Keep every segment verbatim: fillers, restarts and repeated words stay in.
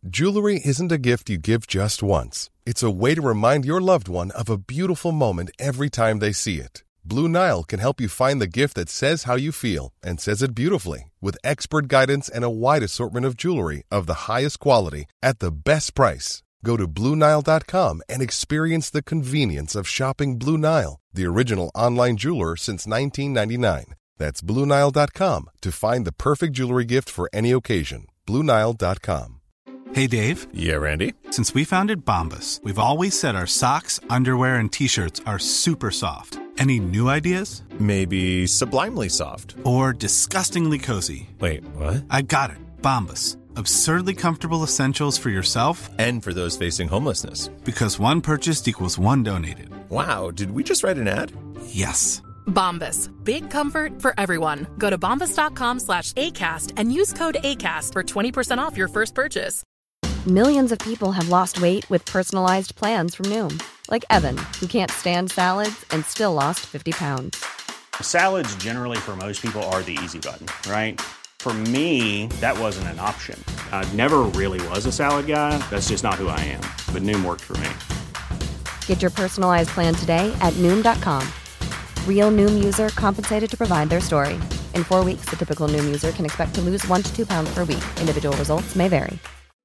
Jewelry isn't a gift you give just once. It's a way to remind your loved one of a beautiful moment every time they see it. Blue Nile can help you find the gift that says how you feel and says it beautifully, with expert guidance and a wide assortment of jewelry of the highest quality at the best price. Go to Blue Nile dot com and experience the convenience of shopping Blue Nile, the original online jeweler since nineteen ninety-nine. That's Blue Nile dot com to find the perfect jewelry gift for any occasion. Blue Nile dot com. Hey, Dave. Yeah, Randy? Since we founded Bombas, we've always said our socks, underwear, and T-shirts are super soft. Any new ideas? Maybe sublimely soft. Or disgustingly cozy. Wait, what? I got it. Bombas. Absurdly comfortable essentials for yourself and for those facing homelessness. Because one purchased equals one donated. Wow, did we just write an ad? Yes. Bombas. Big comfort for everyone. Go to bombas dot com slash ACAST and use code ACAST for twenty percent off your first purchase. Millions of people have lost weight with personalized plans from Noom. Like Evan, who can't stand salads and still lost fifty pounds. Salads generally for most people are the easy button, right? For me, that wasn't an option. I never really was a salad guy. That's just not who I am. But Noom worked for me. Get your personalized plan today at Noom dot com. Real Noom user compensated to provide their story. In four weeks, the typical Noom user can expect to lose one to two pounds per week. Individual results may vary.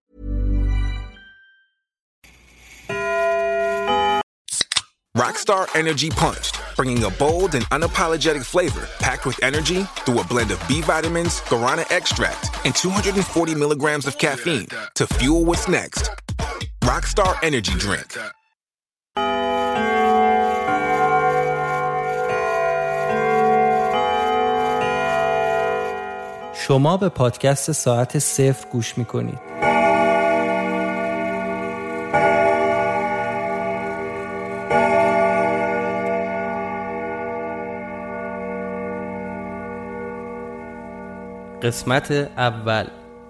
Rockstar Energy Punched, bringing a bold and unapologetic flavor packed with energy through a blend of B vitamins, guarana extract, and two hundred forty milligrams of caffeine to fuel what's next. Rockstar Energy Drink. شما به پادکست ساعت صفر گوش میکنید. قسمت اول.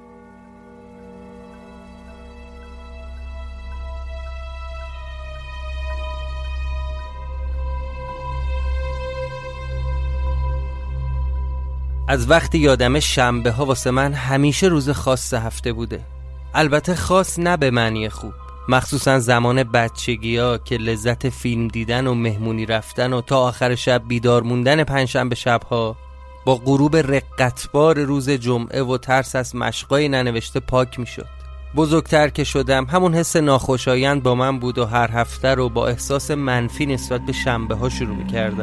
از وقتی یادمه شنبه ها واسه من همیشه روز خاص هفته بوده. البته خاص نه به معنی خوب، مخصوصا زمان بچگی ها که لذت فیلم دیدن و مهمونی رفتن و تا آخر شب بیدار موندن پنجشنبه شبها با غروب رقتبار روز جمعه و ترس از مشقای ننوشته پاک می شد. بزرگتر که شدم همون حس ناخوشایند با من بود و هر هفته رو با احساس منفی نسبت به شنبه ها شروع می کردم.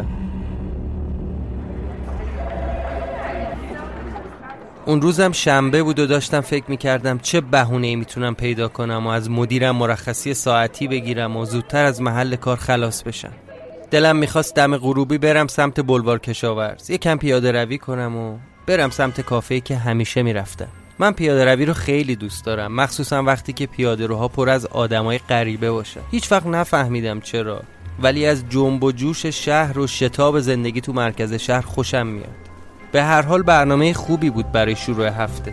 اون روزم شنبه بود و داشتم فکر میکردم چه بهونه‌ای میتونم پیدا کنم و از مدیرم مرخصی ساعتی بگیرم و زودتر از محل کار خلاص بشم. دلم میخواست دم غروبی برم سمت بلوار کشاورز، یکم پیاده روی کنم و برم سمت کافه‌ای که همیشه میرفتم. من پیاده روی رو خیلی دوست دارم، مخصوصا وقتی که پیاده روها پر از آدمای غریبه باشه. هیچ وقت نفهمیدم چرا، ولی از جنب و جوش شهر و شتاب زندگی تو مرکز شهر خوشم میاد. به هر حال برنامه خوبی بود برای شروع هفته.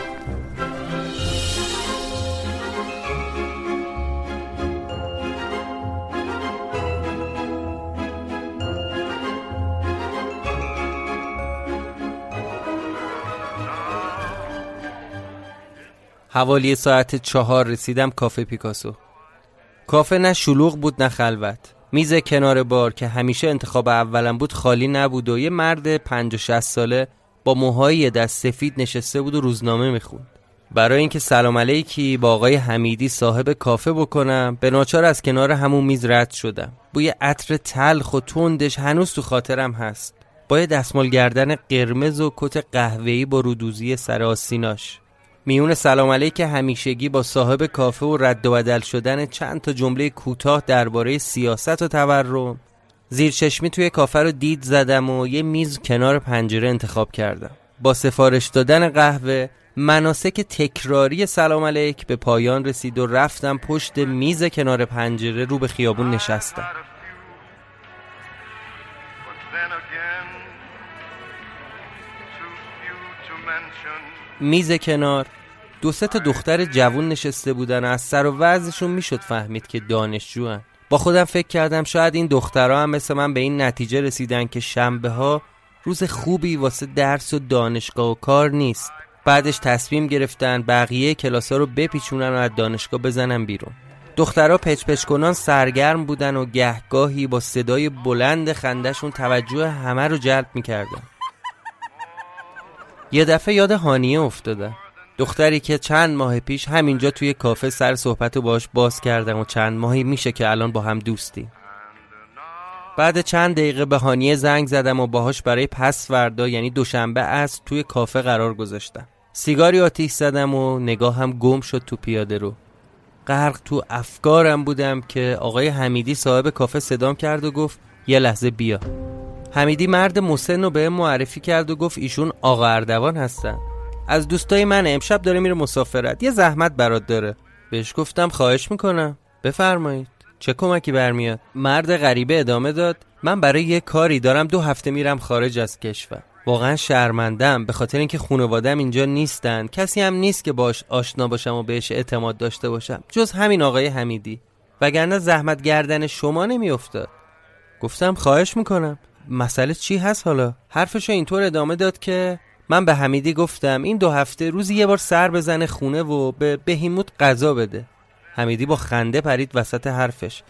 حوالی ساعت چهار رسیدم کافه پیکاسو. کافه نه شلوغ بود نه خلوت. میز کنار بار که همیشه انتخاب اولم بود خالی نبود و یه مرد پنجاه شصت ساله با موهای دست سفید نشسته بود و روزنامه میخوند. برای اینکه سلام علیکی با آقای حمیدی صاحب کافه بکنم به ناچار از کنار همون میز رد شدم. بوی عطر تلخ و تندش هنوز تو خاطرم هست، با یه دستمال گردن قرمز و کت قهوه‌ای با رودوزی سر آستیناش. میون سلام علیک همیشگی با صاحب کافه و رد و بدل شدن چند تا جمله کوتاه درباره سیاست و تورم، زیر چشمی توی کافه رو دید زدم و یه میز کنار پنجره انتخاب کردم. با سفارش دادن قهوه مناسک تکراری سلام علیک به پایان رسید و رفتم پشت میز کنار پنجره رو به خیابون نشستم. میز کنار دو سه تا دختر جوون نشسته بودن و از سر و وضعشون میشد فهمید که دانشجوان. با خودم فکر کردم شاید این دخترها هم مثل من به این نتیجه رسیدن که شنبه ها روز خوبی واسه درس و دانشگاه و کار نیست. بعدش تصمیم گرفتن بقیه کلاسا رو بپیچونن و از دانشگاه بزنن بیرون. دخترها پچ پچ کنان سرگرم بودن و گهگاهی با صدای بلند خندشون توجه همه رو جلب میکردن. یه دفعه یاد هانیه افتادم، دختری که چند ماه پیش همینجا توی کافه سر صحبت رو باهاش باز کردم و چند ماهی میشه که الان با هم دوستی. بعد چند دقیقه به هانیه زنگ زدم و باهاش برای پس فردا یعنی دوشنبه عصر توی کافه قرار گذاشتم. سیگاری آتیش زدم و نگاهم گم شد تو پیاده رو. غرق تو افکارم بودم که آقای حمیدی صاحب کافه صدام کرد و گفت یه لحظه بیا. حمیدی مرد مسن رو به معرفی کرد و گفت ایشون آقا اردوان هستن، از دوستای من، امشب داره میره مسافرت، یه زحمت برات داره. بهش گفتم خواهش میکنم بفرمایید، چه کمکی برمیاد؟ مرد غریبه ادامه داد من برای یه کاری دارم دو هفته میرم خارج از کشور. واقعا شرمندم به خاطر اینکه خانواده‌ام اینجا نیستن، کسی هم نیست که باش آشنا باشم و بهش اعتماد داشته باشم جز همین آقای حمیدی، وگرنه زحمت گردن شما نمیافتاد. گفتم خواهش میکنم، مسئله چی هست حالا؟ حرفشو اینطور ادامه داد که من به حمیدی گفتم این دو هفته روزی یه بار سر بزنه خونه و به بهیموت غذا بده. حمیدی با خنده پرید وسط حرفش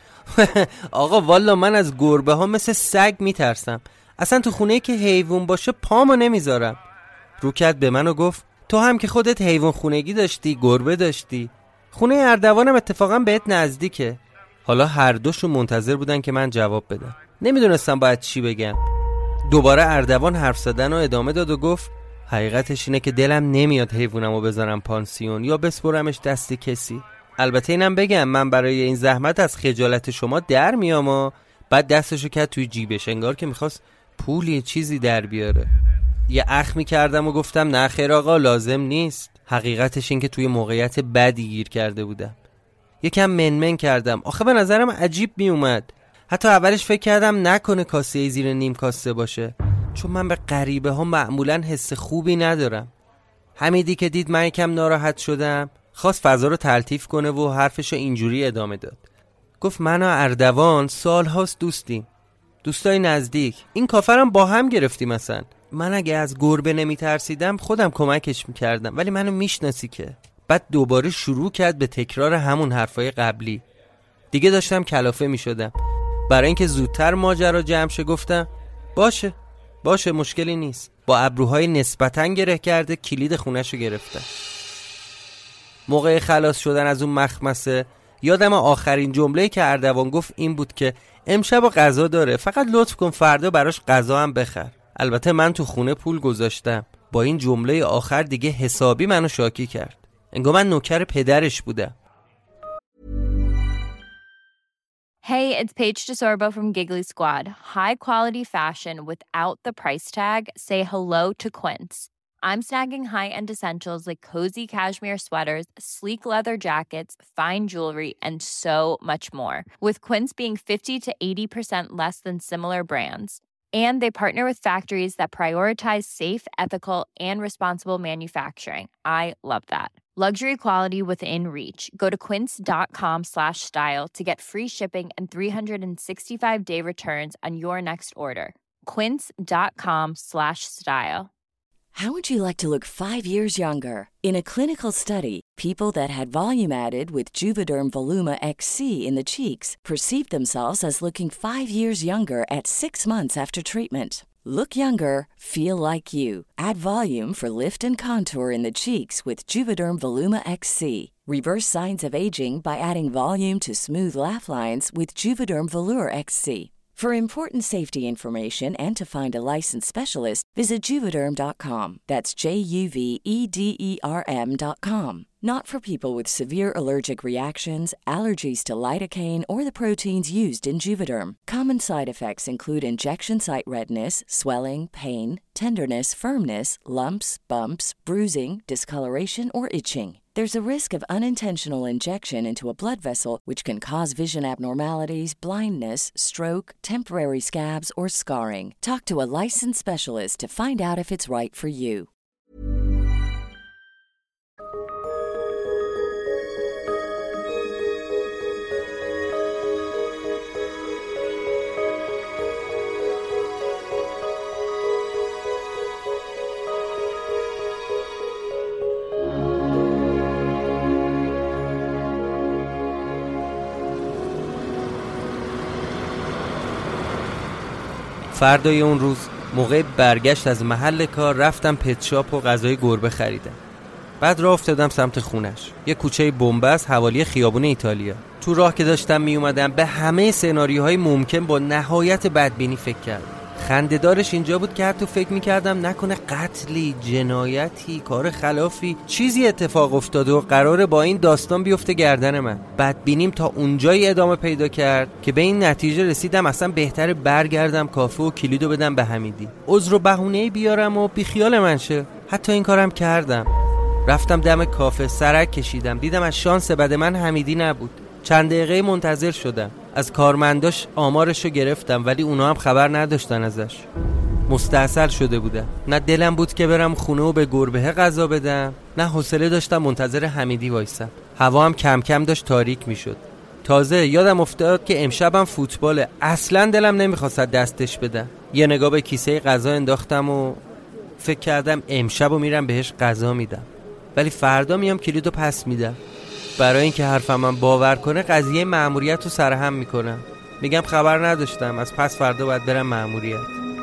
آقا والا من از گربه ها مثل سگ میترسم، اصلا تو خونه که حیوان باشه پامو نمیذارم. رو کرد به من و گفت تو هم که خودت حیوان خونگی داشتی، گربه داشتی، خونه اردوانم اتفاقا بهت نزدیکه. حالا هر دوشون منتظر بودن که من جواب بدم، نمیدونستم باید چی بگم. دوباره اردوان حرف زدن و ادامه داد و گفت حقیقتش اینه که دلم نمیاد حیوانمو بذارم پانسیون یا بسپرمش دست کسی. البته اینم بگم من برای این زحمت از خجالت شما در میام و بعد دستشو کرد توی جیبش انگار که میخواست پولی چیزی در بیاره. یه اخمی کردم و گفتم نه خیر آقا لازم نیست. حقیقتش این که توی موقعیت بدی گیر کرده بودم. یکم منمن کردم، آخه به نظرم عجیب می اومد. حتی اولش فکر کردم نکنه کاسه زیر نیم کاسه باشه، چون من به غریبه ها معمولا حس خوبی ندارم. حمیدی که دید من یکم ناراحت شدم خواست فضا رو تلطیف کنه و حرفشو اینجوری ادامه داد. گفت من و اردوان سال هاست دوستیم، دوستای نزدیک، این کافرم با هم گرفتیم. مثلا من اگه از گربه نمی ترسیدم خودم کمکش میکردم، ولی منو میشناسی که. بعد دوباره شروع کرد به تکرار همون حرفای قبلی. دیگه داشتم کلافه میشدم. برای اینکه زودتر ماجرا جمع شه گفتم باشه باشه مشکلی نیست. با ابروهای نسبتاً گره کرده کلید خونه‌شو گرفتم. موقع خلاص شدن از اون مخمسه یادم آخرین جمله‌ای که اردوان گفت این بود که امشب غذا داره، فقط لطف کن فردا براش غذا هم بخر. البته من تو خونه پول گذاشتم. با این جمله آخر دیگه حسابی منو شاکی کرد، انگار من نوکر پدرش بودم. Hey, it's Paige DeSorbo from Giggly Squad. High quality fashion without the price tag. Say hello to Quince. I'm snagging high-end essentials like cozy cashmere sweaters, sleek leather jackets, fine jewelry, and so much more. With Quince being fifty to eighty percent less than similar brands. And they partner with factories that prioritize safe, ethical, and responsible manufacturing. I love that. Luxury quality within reach. Go to quince.com slash style to get free shipping and three sixty-five day returns on your next order. Quince.com slash style. How would you like to look five years younger? In a clinical study, people that had volume added with Juvederm Voluma X C in the cheeks perceived themselves as looking five years younger at six months after treatment. Look younger, feel like you. Add volume for lift and contour in the cheeks with Juvederm Voluma X C. Reverse signs of aging by adding volume to smooth laugh lines with Juvederm Volure X C. For important safety information and to find a licensed specialist, visit Juvederm dot com. That's J U V E D E R M dot com. Not for people with severe allergic reactions, allergies to lidocaine, or the proteins used in Juvederm. Common side effects include injection site redness, swelling, pain, tenderness, firmness, lumps, bumps, bruising, discoloration, or itching. There's a risk of unintentional injection into a blood vessel, which can cause vision abnormalities, blindness, stroke, temporary scabs, or scarring. Talk to a licensed specialist to find out if it's right for you. فردای اون روز موقع برگشت از محل کار رفتم پت شاپ و غذای گربه خریدم. بعد راه افتادم سمت خونش. یه کوچه بنبست حوالی خیابون ایتالیا. تو راه که داشتم می اومدم به همه سناریوهای ممکن با نهایت بدبینی فکر کردم. خنده‌دارش اینجا بود که حتی فکر می‌کردم نکنه قتلی، جنایتی، کار خلافی چیزی اتفاق افتاده و قراره با این داستان بیفته گردن من. بدبینیم تا اونجایی ادامه پیدا کرد که به این نتیجه رسیدم اصلا بهتره برگردم کافه و کلیدو بدم به حمیدی. عذر و بهونه‌ای بیارم و بیخیال من شه. حتی این کارم کردم. رفتم دم کافه، سرک کشیدم، دیدم از شانس بد من حمیدی نبود. چند دقیقه منتظر شدم. از کارمنداش آمارشو گرفتم ولی اونا هم خبر نداشتن ازش. مستعسل شده بودم. نه دلم بود که برم خونه و به گربه غذا بدم، نه حوصله داشتم منتظر حمیدی وایسم. هوا هم کم کم داشت تاریک میشد. تازه یادم افتاد که امشبم فوتباله. اصلا دلم نمیخواست دستش بدم. یه نگاه به کیسه غذا انداختم و فکر کردم امشبو میرم بهش غذا میدم. ولی فردا میام کلیدو پس میدم. برای اینکه حرفم من باور کنه قضیه مأموریت رو سرهم میکنم. میگم خبر نداشتم، از پس فردا باید برم مأموریت.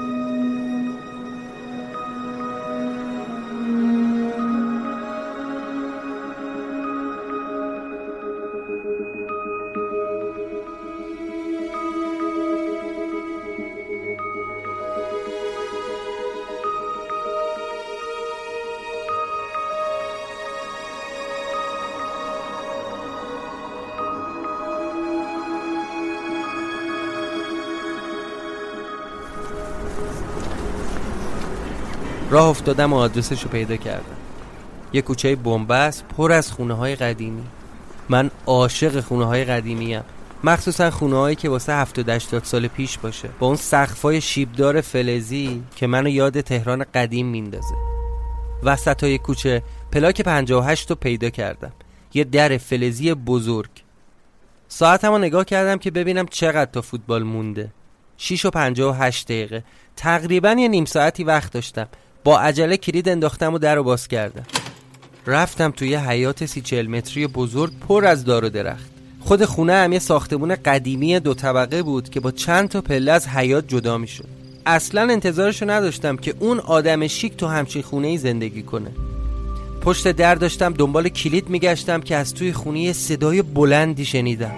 راه افتادم و آدرسش رو پیدا کردم. یه کوچه بنبست پر از خونه های قدیمی. من عاشق خونه های قدیمی ام، مخصوصا خونه هایی که واسه هفتاد هشتاد سال پیش باشه، با اون سقفای شیبدار فلزی که منو یاد تهران قدیم میندازه. وسط های کوچه پلاک پنجاه و هشت رو پیدا کردم، یه در فلزی بزرگ. ساعتمو نگاه کردم که ببینم چقدر تا فوتبال مونده. شش و پنجاه و هشت دقیقه. تقریبا یه نیم ساعتی وقت داشتم. با عجله کلید انداختم و در رو باز کردم. رفتم توی حیاط سی چهل متری بزرگ پر از دار و درخت. خود خونه هم یه ساختمون قدیمی دو طبقه بود که با چند تا پله از حیاط جدا می شد. اصلا انتظارشو نداشتم که اون آدم شیک تو همچین خونه‌ای زندگی کنه. پشت در داشتم دنبال کلید میگشتم که از توی خونه یه صدای بلندی شنیدم.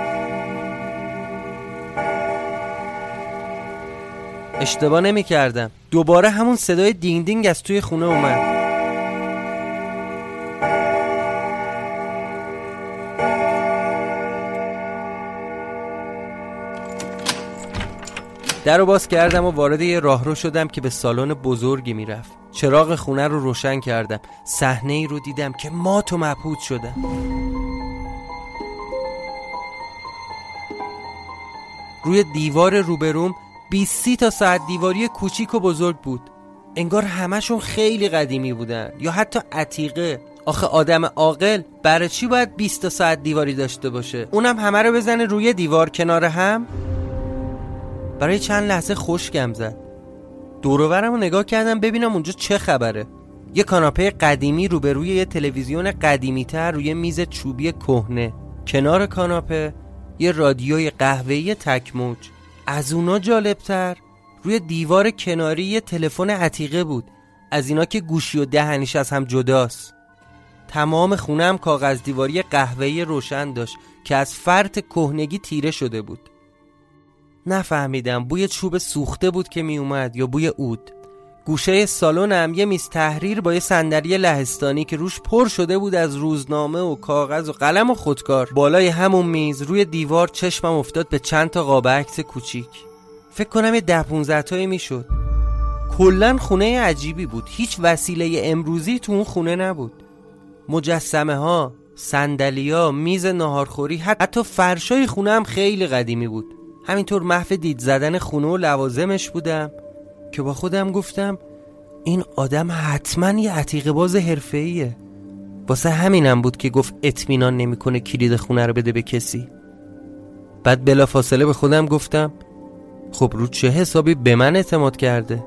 اشتباه نمی کردم. دوباره همون صدای دینگ دینگ از توی خونه اومد. در رو باز کردم و وارد یه راهرو شدم که به سالن بزرگی میرفت. چراغ خونه رو روشن کردم. صحنه ای رو دیدم که مات و مبهوت شدم. روی دیوار روبروم بیست تا ساعت دیواری کوچیک و بزرگ بود. انگار همشون خیلی قدیمی بودن یا حتی عتیقه. آخه آدم عاقل برای چی باید بیست تا ساعت دیواری داشته باشه؟ اونم همه رو بزنه روی دیوار کنار هم؟ برای چند لحظه خشکم زد. دور و برم رو نگاه کردم ببینم اونجا چه خبره. یه کاناپه قدیمی روبروی یه تلویزیون قدیمی تر روی میز چوبی کهنه. کنار کاناپه یه رادیوی قهوه‌ای تک موج. از اونا جالبتر روی دیوار کناری یه تلفن عتیقه بود، از اینا که گوشی و دهنیش از هم جداست. تمام خونه هم کاغذ دیواری قهوه‌ای روشن داشت که از فرط کهنگی تیره شده بود. نفهمیدم بوی چوب سوخته بود که می اومد یا بوی عود. گوشه سالن هم یه میز تحریر با یه صندلی لهستانی که روش پر شده بود از روزنامه و کاغذ و قلم و خودکار. بالای همون میز روی دیوار چشمم افتاد به چند تا قاب عکس کوچیک. فکر کنم یه ده پونزده تایی میشد. کلن خونه عجیبی بود. هیچ وسیله امروزی تو اون خونه نبود. مجسمه ها، صندلی ها، میز ناهارخوری، حتی فرشای خونه هم خیلی قدیمی بود. همینطور محو دید زدن خونه و لوازمش بودم که با خودم گفتم این آدم حتما یه عتیقه باز حرفه‌ایه. واسه همینم بود که گفت اطمینان نمیکنه کلید خونه رو بده به کسی. بعد بلافاصله به خودم گفتم خب رو چه حسابی به من اعتماد کرده؟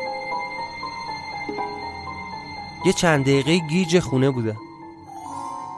یه چند دقیقه گیج خونه بودم.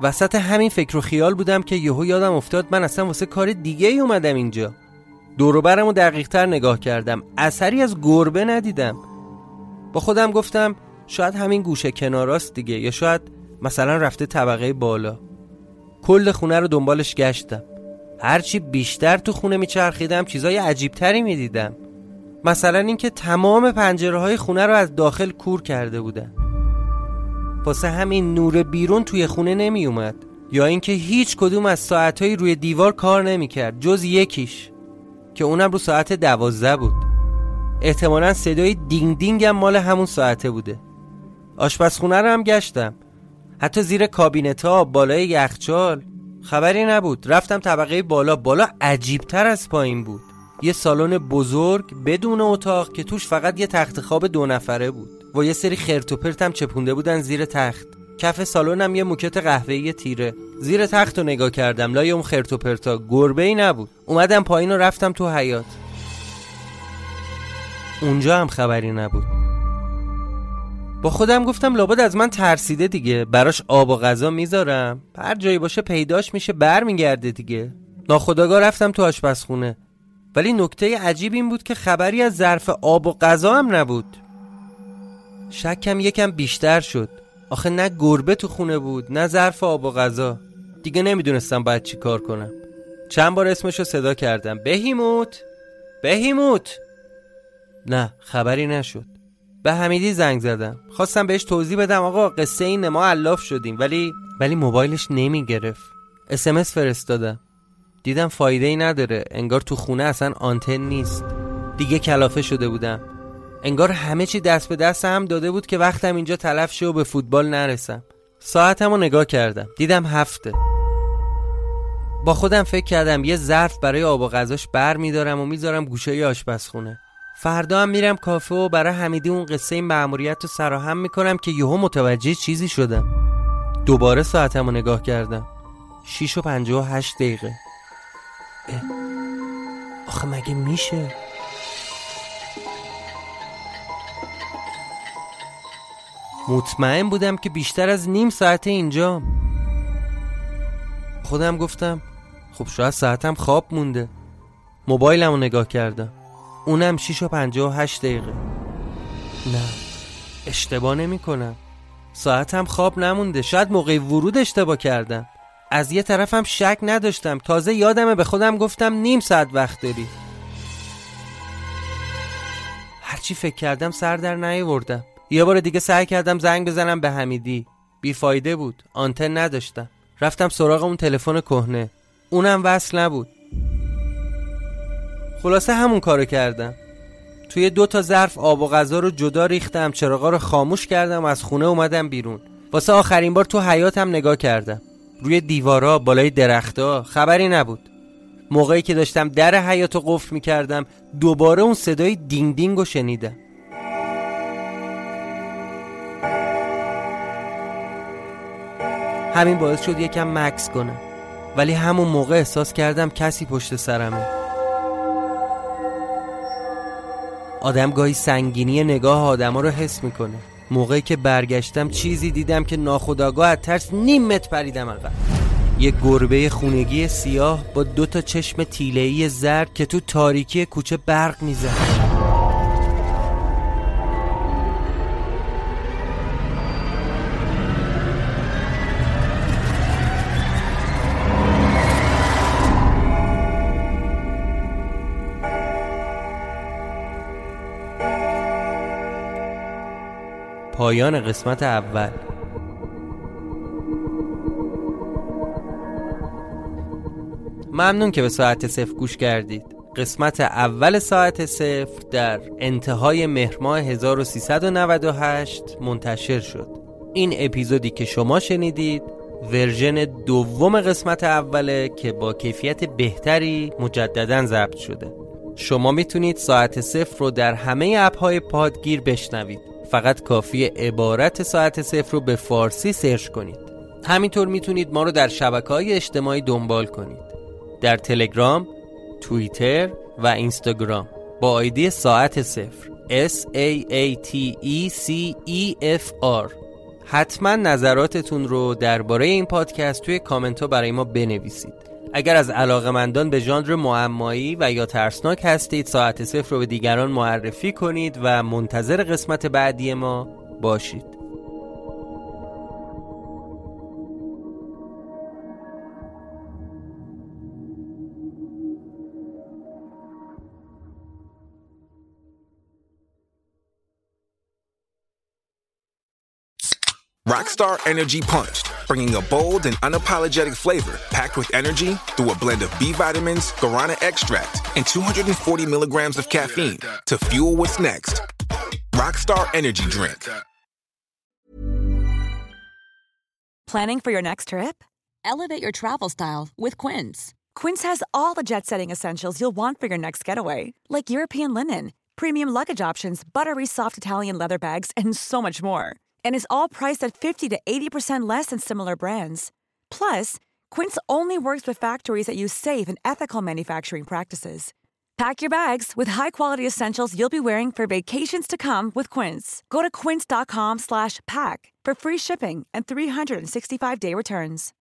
وسط همین فکر و خیال بودم که یهو یادم افتاد من اصلا واسه کار دیگه ای اومدم اینجا. دور و برمو دقیق تر نگاه کردم، اثری از گربه ندیدم. با خودم گفتم شاید همین گوشه کناراست دیگه، یا شاید مثلا رفته طبقه بالا. کل خونه رو دنبالش گشتم. هرچی بیشتر تو خونه میچرخیدم چیزای عجیب تری میدیدم. مثلا اینکه تمام پنجره‌های خونه رو از داخل کور کرده بودن، واسه همین نور بیرون توی خونه نمی اومد. یا اینکه هیچ کدوم از ساعتهای روی دیوار کار نمی کرد جز یکیش که اونم رو ساعت دوازده بود. احتمالاً صدای دینگ دینگ هم مال همون ساعته بوده. آشپزخونه رو هم گشتم، حتی زیر کابینت‌ها، بالای یخچال، خبری نبود. رفتم طبقه بالا. بالا عجیب‌تر از پایین بود. یه سالن بزرگ بدون اتاق که توش فقط یه تخت خواب دو نفره بود و یه سری خرت و پرت هم چپونده بودن زیر تخت. کف سالنم یه موکت قهوه‌ای تیره. زیر تخت رو نگاه کردم، لای اون خرت و پرتا گربه‌ای نبود. اومدم پایین و رفتم تو حیاط. اونجا هم خبری نبود. با خودم گفتم لابد از من ترسیده دیگه، براش آب و غذا میذارم، هر جایی باشه پیداش میشه برمیگرده دیگه. ناخودآگاه رفتم تو آشپزخونه، ولی نکته عجیب این بود که خبری از ظرف آب و غذا هم نبود. شکم یکم بیشتر شد. آخه نه گربه تو خونه بود نه ظرف آب و غذا. دیگه نمیدونستم باید چی کار کنم. چند بار اسمشو صدا کردم، بهیموت بهیموت. نه خبری نشد. به حمیدی زنگ زدم، خواستم بهش توضیح بدم آقا قصه اینه ما علاف شدیم، ولی ولی موبایلش نمی گرفت. اس ام اس فرستادم، دیدم فایده ای نداره، انگار تو خونه اصلا آنتن نیست. دیگه کلافه شده بودم، انگار همه چی دست به دست هم داده بود که وقتم اینجا تلف شه و به فوتبال نرسم. ساعتمو نگاه کردم، دیدم هفته. با خودم فکر کردم یه ظرف برای آب و غذاش بر میدارم و میذارم گوشه آشپزخونه. فردا هم میرم کافه و برای حمیدی اون قصه مأموریت رو سراهم میکنم که یهو متوجه چیزی شدم. دوباره ساعتمو نگاه کردم، شیش و پنجاه و هشت دقیقه. اه. آخه مگه میشه؟ مطمئن بودم که بیشتر از نیم ساعت اینجام. خودم گفتم خب شاید ساعتم خواب مونده. موبایلمو نگاه کردم، اونم شیش و پنجاه و هشت دقیقه. نه اشتباه نمی کنم، ساعتم خواب نمونده. شاید موقع ورود اشتباه کردم. از یه طرفم شک نداشتم، تازه یادمه به خودم گفتم نیم ساعت وقت داری. هرچی فکر کردم سر در نیاوردم. یه بار دیگه سعی کردم زنگ بزنم به حمیدی، بیفایده بود، آنتن نداشتم. رفتم سراغ اون تلفن کهنه، اونم وصل نبود. خلاصه همون کارو کردم. توی دو تا ظرف آب و غذا رو جدا ریختم، چراغا رو خاموش کردم، از خونه اومدم بیرون. واسه آخرین بار تو حیاطم نگاه کردم. روی دیوارا، بالای درختا خبری نبود. موقعی که داشتم در حیاطو قفل می‌کردم دوباره اون صدای دینگ دینگ رو شنیدم. همین باعث شد یکم مکث کنم، ولی همون موقع احساس کردم کسی پشت سرمه. آدم گاهی سنگینی نگاه آدم ها رو حس میکنه. موقعی که برگشتم چیزی دیدم که ناخودآگاه از ترس نیم متر پریدم عقب. یه گربه خونگی سیاه با دو تا چشم تیله‌ای زرد که تو تاریکی کوچه برق میزد. پایان قسمت اول. ممنون که به ساعت صفر گوش کردید. قسمت اول ساعت صفر در انتهای مهر ماه هزار و سیصد و نود و هشت منتشر شد. این اپیزودی که شما شنیدید ورژن دوم قسمت اوله که با کیفیت بهتری مجدداً ضبط شده. شما میتونید ساعت صفر رو در همه اپ‌های پادگیر بشنوید. فقط کافیه عبارت ساعت صفر رو به فارسی سرچ کنید. همینطور میتونید ما رو در شبکه‌های اجتماعی دنبال کنید. در تلگرام، توییتر و اینستاگرام با آیدی ساعت صفر اس ای ای تی ای سی ای اف آر. حتما نظراتتون رو درباره این پادکست توی کامنت ها برای ما بنویسید. اگر از علاقه‌مندان به ژانر معمایی و یا ترسناک هستید، ساعت صفر رو به دیگران معرفی کنید و منتظر قسمت بعدی ما باشید. Rockstar Energy Punched, bringing a bold and unapologetic flavor packed with energy through a blend of B vitamins, guarana extract, and two hundred forty milligrams of caffeine to fuel what's next. Rockstar Energy Drink. Planning for your next trip? Elevate your travel style with Quince. Quince has all the jet-setting essentials you'll want for your next getaway, like European linen, premium luggage options, buttery soft Italian leather bags, and so much more. And is all priced at fifty to eighty percent less than similar brands. Plus, Quince only works with factories that use safe and ethical manufacturing practices. Pack your bags with high-quality essentials you'll be wearing for vacations to come with Quince. Go to quince.com slash pack for free shipping and three hundred sixty-five day returns.